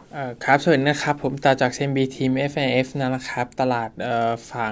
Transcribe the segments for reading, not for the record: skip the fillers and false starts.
ครับสวัสดีนะครับผมต่อจาก CMB ทีม F&F นะครับตลาดฝั่ง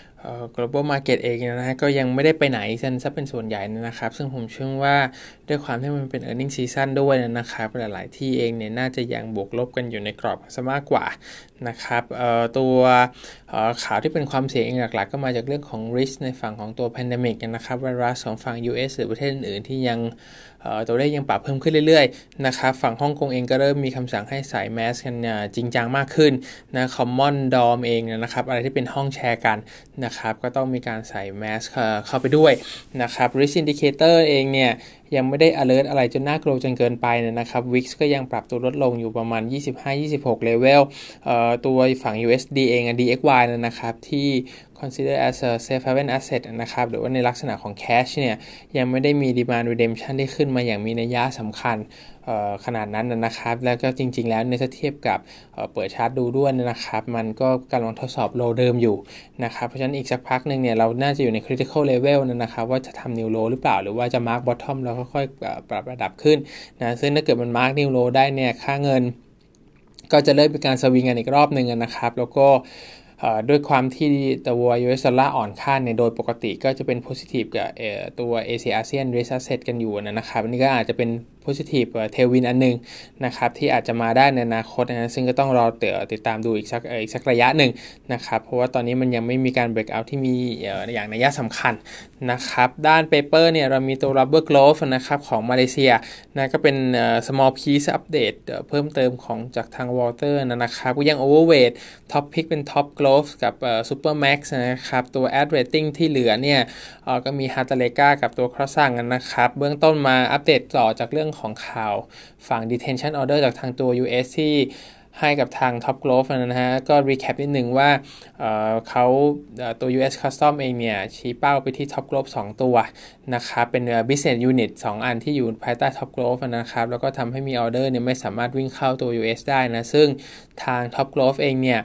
global market เองนะฮะก็ยังไม่ได้ไปไหนซะเป็นส่วนใหญ่นะครับซึ่งผมเชื่อว่าด้วยความที่มันเป็น earning season ด้วยนะครับหลายๆที่เองเนี่ยน่าจะยังบวกลบกันอยู่ในกรอบซะมากกว่านะครับตัวข่าวที่เป็นความเสี่ยงหลักๆก็มาจากเรื่องของ risk ในฝั่งของตัว pandemic นะครับไวรัสของฝั่ง US หรือประเทศอื่นๆที่ยังตัวเลขยังปรับเพิ่มขึ้นเรื่อยๆนะครับฝั่งฮ่องกงเองก็เริ่มมีคำสั่งให้ใส่แมสกันจริงจังมากขึ้นนะ Common Dorm เองนะครับอะไรที่เป็นห้องแชร์กันนะครับก็ต้องมีการใส่แมสเข้าไปด้วยนะครับ Risk Indicator เองเนี่ยยังไม่ได้ alert อะไรจนน่ากลัวจนเกินไปนะครับ VIX ก็ยังปรับตัวลดลงอยู่ประมาณ25-26 level ตัวฝั่ง USD เองDXY นะครับที่ consider as a safe haven asset นะครับหรือว่าในลักษณะของ cash เนี่ยยังไม่ได้มี demand redemption ที่ขึ้นมาอย่างมีนัยสำคัญขนาดนั้นนะครับแล้วก็จริงๆแล้วในเทียบกับเปิดชาร์ตดูด้วยนะครับมันก็กำลังทดสอบโลเดิมอยู่นะครับเพราะฉะนั้นอีกสักพักนึงเนี่ยเราน่าจะอยู่ใน critical level นะครับว่าจะทำ new low หรือเปล่าหรือว่าจะ mark bottom แล้วค่อยๆปรับระดับขึ้นนะซึ่งถ้าเกิดมัน mark new low ได้เนี่ยค่าเงินก็จะเริ่มเป็นการสวิงกันอีกรอบนึงนะครับแล้วก็ด้วยความที่ตัว US ดอลลาร์อ่อนค่าเนี่ยโดยปกติก็จะเป็น positive กับตัว Asia ASEAN Risk Asset กันอยู่นะครับอันนี้ก็อาจจะเป็น positive tailwind อันนึงนะครับที่อาจจะมาได้ในอนาคตนะซึ่งก็ต้องรอติดตามดูอีกสักระยะหนึ่งนะครับเพราะว่าตอนนี้มันยังไม่มีการ break out ที่มีอย่างนัยสำคัญนะครับด้าน paper เนี่ยเรามีตัว rubber glove นะครับของมาเลเซียนะก็เป็นsmall piece update เพิ่มเติมของจากทาง Walter นะครับก็ยัง overweight top pick เป็น top glove กับsuper max นะครับตัว add rating ที่เหลือเนี่ยก็มี Hartaleka กับตัว Crossang นะครับเบื้องต้นมาอัปเดตต่อจากเรื่องของข่าวฝั่ง detention order จากทางตัว US ที่ให้กับทาง Top Glove นะฮะก็ recap นิดนึงว่าเขาตัว US Custom เองเนี่ยชี้เป้าไปที่ Top Glove 2 ตัวนะครับเป็น business unit 2 อันที่อยู่ภายใต้ Top Glove นะครับแล้วก็ทำให้มี order เนี่ยไม่สามารถวิ่งเข้าตัว US ได้นะซึ่งทาง Top Glove เองเนี่ย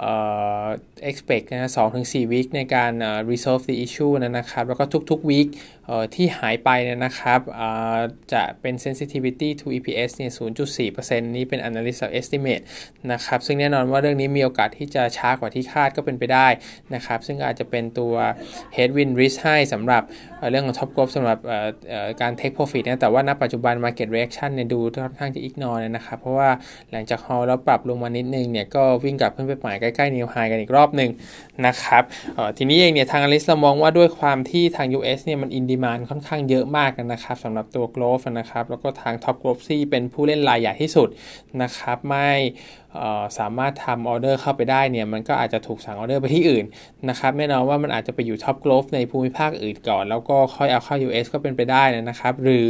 expect นะ2-4 week ในการresolve the issue นะครับแล้วก็ทุกๆ week ที่หายไปนะครับจะเป็น sensitivity to EPS เนี่ย 0.4% นี้เป็น analyst estimate นะครับซึ่งแน่นอนว่าเรื่องนี้มีโอกาสที่จะช้ากว่าที่คาดก็เป็นไปได้นะครับซึ่งอาจจะเป็นตัว headwind risk ให้สำหรับเรื่องของ top growth สำหรับการ take profit นะแต่ว่าณปัจจุบัน market reaction เนี่ยดูค่อนข้างจะ ignore นะครับเพราะว่าหลังจาก haul แล้วปรับลงมานิดนึงเนี่ยก็วิ่งกลับขึ้นไปใหม่ใกล้ๆ new high กันอีกรอบนึงนะครับทีนี้เองเนี่ยทาง analyst เรามองว่าด้วยความที่ทาง US เนี่ยมัน in demand ค่อนข้างเยอะมากนะครับสำหรับตัว growth นะครับแล้วก็ทาง top growth ที่เป็นผู้เล่นรายใหญ่ที่สุดนะครับไม่สามารถทำออเดอร์เข้าไปได้เนี่ยมันก็อาจจะถูกสั่งออเดอร์ไปที่อื่นนะครับแน่นอนว่ามันอาจจะไปอยู่ top growth ในภูมิภาคอื่นก่อนแล้วก็ค่อยเอาเข้า US ก็เป็นไปได้นะครับหรือ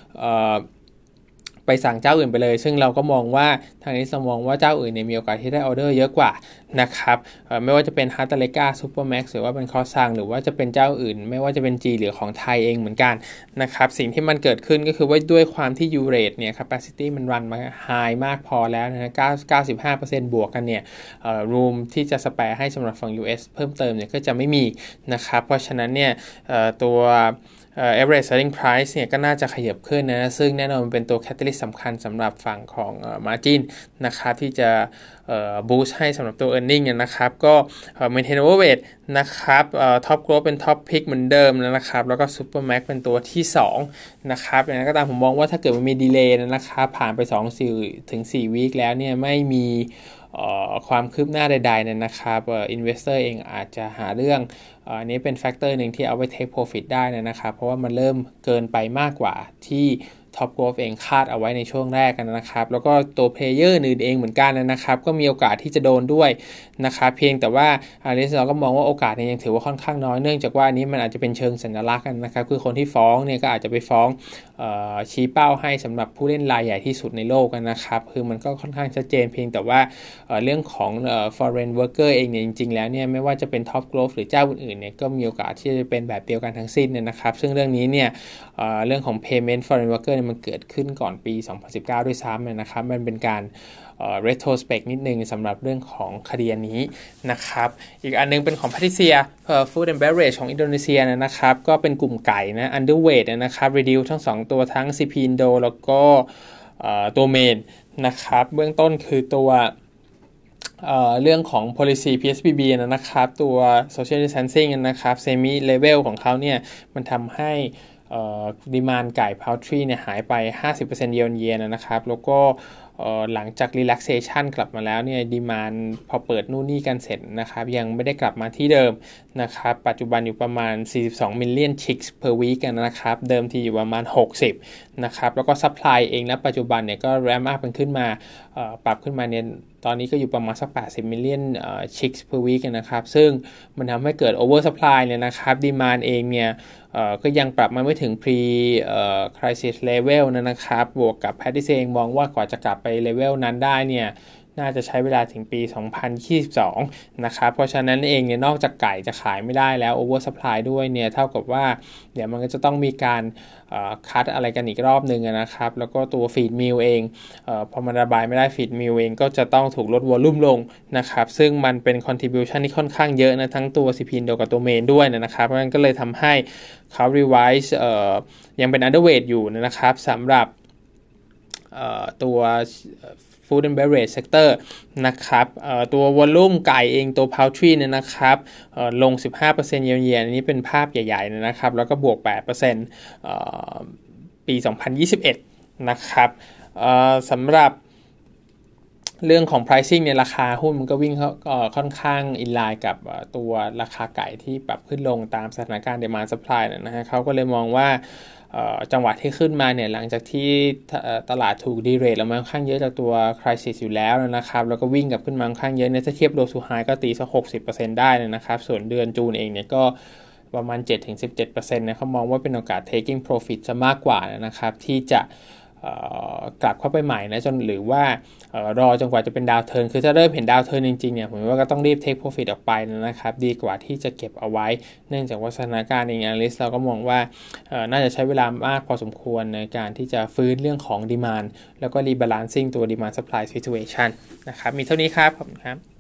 ไปสั่งเจ้าอื่นไปเลยซึ่งเราก็มองว่าทางนี้เรามองว่าเจ้าอื่นเนี่ยมีโอกาสที่ได้ออเดอร์เยอะกว่านะครับไม่ว่าจะเป็น Hartaleka Supermax หรือว่าเป็น Crossang หรือว่าจะเป็นเจ้าอื่นไม่ว่าจะเป็น G หรือของไทยเองเหมือนกันนะครับสิ่งที่มันเกิดขึ้นก็คือว่าด้วยความที่ U rate เนี่ย capacity มันรันมา high มากพอแล้วนะ 95% บวกกันเนี่ยroom ที่จะ spare ให้สำหรับฝั่ง US เพิ่มเติมเนี่ยก็จะไม่มีนะครับเพราะฉะนั้นเนี่ยตัวaverage selling price เนี่ยก็น่าจะขยับขึ้นนะซึ่งแน่นอนมันเป็นตัว catalyst สำคัญสำหรับฝั่งของ margin นะครับที่จะboost ให้สำหรับตัว earning นะครับก็ maintain overweight นะครับtop growth เป็น top pick เหมือนเดิมนะครับแล้วก็ super max เป็นตัวที่2นะครับอย่างนั้นก็ตามผมมองว่าถ้าเกิดมันมี delay นะครับผ่านไป 2-4 week แล้วเนี่ยไม่มีความคืบหน้าใดๆนะครับinvestor เองอาจจะหาเรื่องอันนี้เป็นแฟกเตอร์หนึ่งที่เอาไว้ take profit ได้นะครับเพราะว่ามันเริ่มเกินไปมากกว่าที่ Top Growth เองคาดเอาไว้ในช่วงแรกกันนะครับแล้วก็ตัวเพลเยอร์อื่นเองเหมือนกันนะครับก็มีโอกาสที่จะโดนด้วยนะครับเพียงแต่ว่าเราก็มองว่าโอกาสเนี่ยยังถือว่าค่อนข้างน้อยเนื่องจากว่านี้มันอาจจะเป็นเชิงสัญลักษณ์กันนะครับคือคนที่ฟ้องเนี่ยก็อาจจะไปฟ้องชี้เป้าให้สำหรับผู้เล่นรายใหญ่ที่สุดในโลกนะครับคือมันก็ค่อนข้างชัดเจนเพียงแต่ว่าเรื่องของforeign worker เองเนี่ยจริงๆแล้วเนี่ยไม่ว่าจะเป็น Top Growth หรือเจ้าอื่นๆเนี่ยก็มีโอกาสที่จะเป็นแบบเดียวกันทั้งสิ้นนะครับซึ่งเรื่องนี้เนี่ยเรื่องของ payment foreign worker มันเกิดขึ้นก่อนปี 2019 ด้วยซ้ำนะครับมันเป็นการretrospect นิดนึงสำหรับเรื่องของคดีนี้นะครับอีกอันนึงเป็นของ Patricia Food and Beverage ของอินโดนีเซียนะครับก็เป็นกลุ่มไก่นะ underweight นะครับ reduce ทั้ง2ตัวทั้ง CP Indo แล้วก็ตัวเมนนะครับเบื้องต้นคือตัวเรื่องของ policy PSBB นะครับตัว social distancing นะครับ semi level ของเขาเนี่ยมันทำให้ดีมานด์ไก่ poultry เนี่ยหายไป 50% year on year นะครับแล้วก็หลังจาก relaxation กลับมาแล้วเนี่ยดีมานด์พอเปิดนู่นนี่กันเสร็จนะครับยังไม่ได้กลับมาที่เดิมนะครับปัจจุบันอยู่ประมาณ42 million chicks per week นะครับเดิมทีอยู่ประมาณ60นะครับแล้วก็ supply เองนะปัจจุบันเนี่ยก็ ramp up ขึ้นมาปรับขึ้นมาเนี่ยตอนนี้ก็อยู่ประมาณสัก80 million chicks per week นะครับซึ่งมันทำให้เกิด over supply เนี่ยนะครับดีมานด์เองเนี่ยก็ยังปรับมาไม่ถึง pre crisis level นะครับบวกกับแพทย์เองมองว่ากว่าจะกลับไปเลเวลนั้นได้เนี่ยน่าจะใช้เวลาถึงปี 2022 นะครับเพราะฉะนั้นเองเนี่ยนอกจากไก่จะขายไม่ได้แล้ว over supply ด้วยเนี่ยเท่ากับว่าเดี๋ยวมันก็จะต้องมีการคัดอะไรกันอีกรอบนึงนะครับแล้วก็ตัว feed meal เองพอมันระบายไม่ได้ feed meal เองก็จะต้องถูกลดวอลลุ่มลงนะครับซึ่งมันเป็น contribution ที่ค่อนข้างเยอะนะทั้งตัว CP Indo กับตัวเมนด้วยนะครับเพราะฉะนั้นก็เลยทำให้เขา revise ยังเป็น underweight อยู่นะครับสำหรับตัว food and beverage sector นะครับตัววอลลุ่มไก่เองตัว poultry เนี่ยนะครับลง 15% year on year อันนี้เป็นภาพใหญ่ๆนะครับแล้วก็บวก 8% ปี 2021 นะครับสำหรับเรื่องของ pricing ในราคาหุ้นมันก็วิ่งค่อนข้างอินไลน์กับตัวราคาไก่ที่ปรับขึ้นลงตามสถานการณ์ demand supply นะฮะเขาก็เลยมองว่าจังหวะที่ขึ้นมาเนี่ยหลังจากที่ตลาดถูกดีเรทลงมาค่อนข้างเยอะจากตัว crisis อยู่แล้วนะครับแล้วก็วิ่งกลับขึ้นมาค่อนข้างเยอะเนี่ยถ้าเทียบ low to high ก็ตีสัก 60% ได้นะครับส่วนเดือนจูนเองเนี่ยก็ประมาณ 7-17% นะเขามองว่าเป็นโอกาส taking profit จะมากกว่านะครับที่จะกลับเข้าไปใหม่นะจนหรือว่ารอจนกว่าจะเป็นดาวเทิร์นคือถ้าเริ่มเห็นดาวเทิร์นจริงๆเนี่ยผมว่าก็ต้องรีบ take profit ออกไปนะครับดีกว่าที่จะเก็บเอาไว้เนื่องจากว่าสถานการณ์เอง analyst เราก็มองว่าน่าจะใช้เวลามากพอสมควรในการที่จะฟื้นเรื่องของ demand แล้วก็ rebalancing ตัว demand supply situation นะครับมีเท่านี้ครับขอบคุณครับ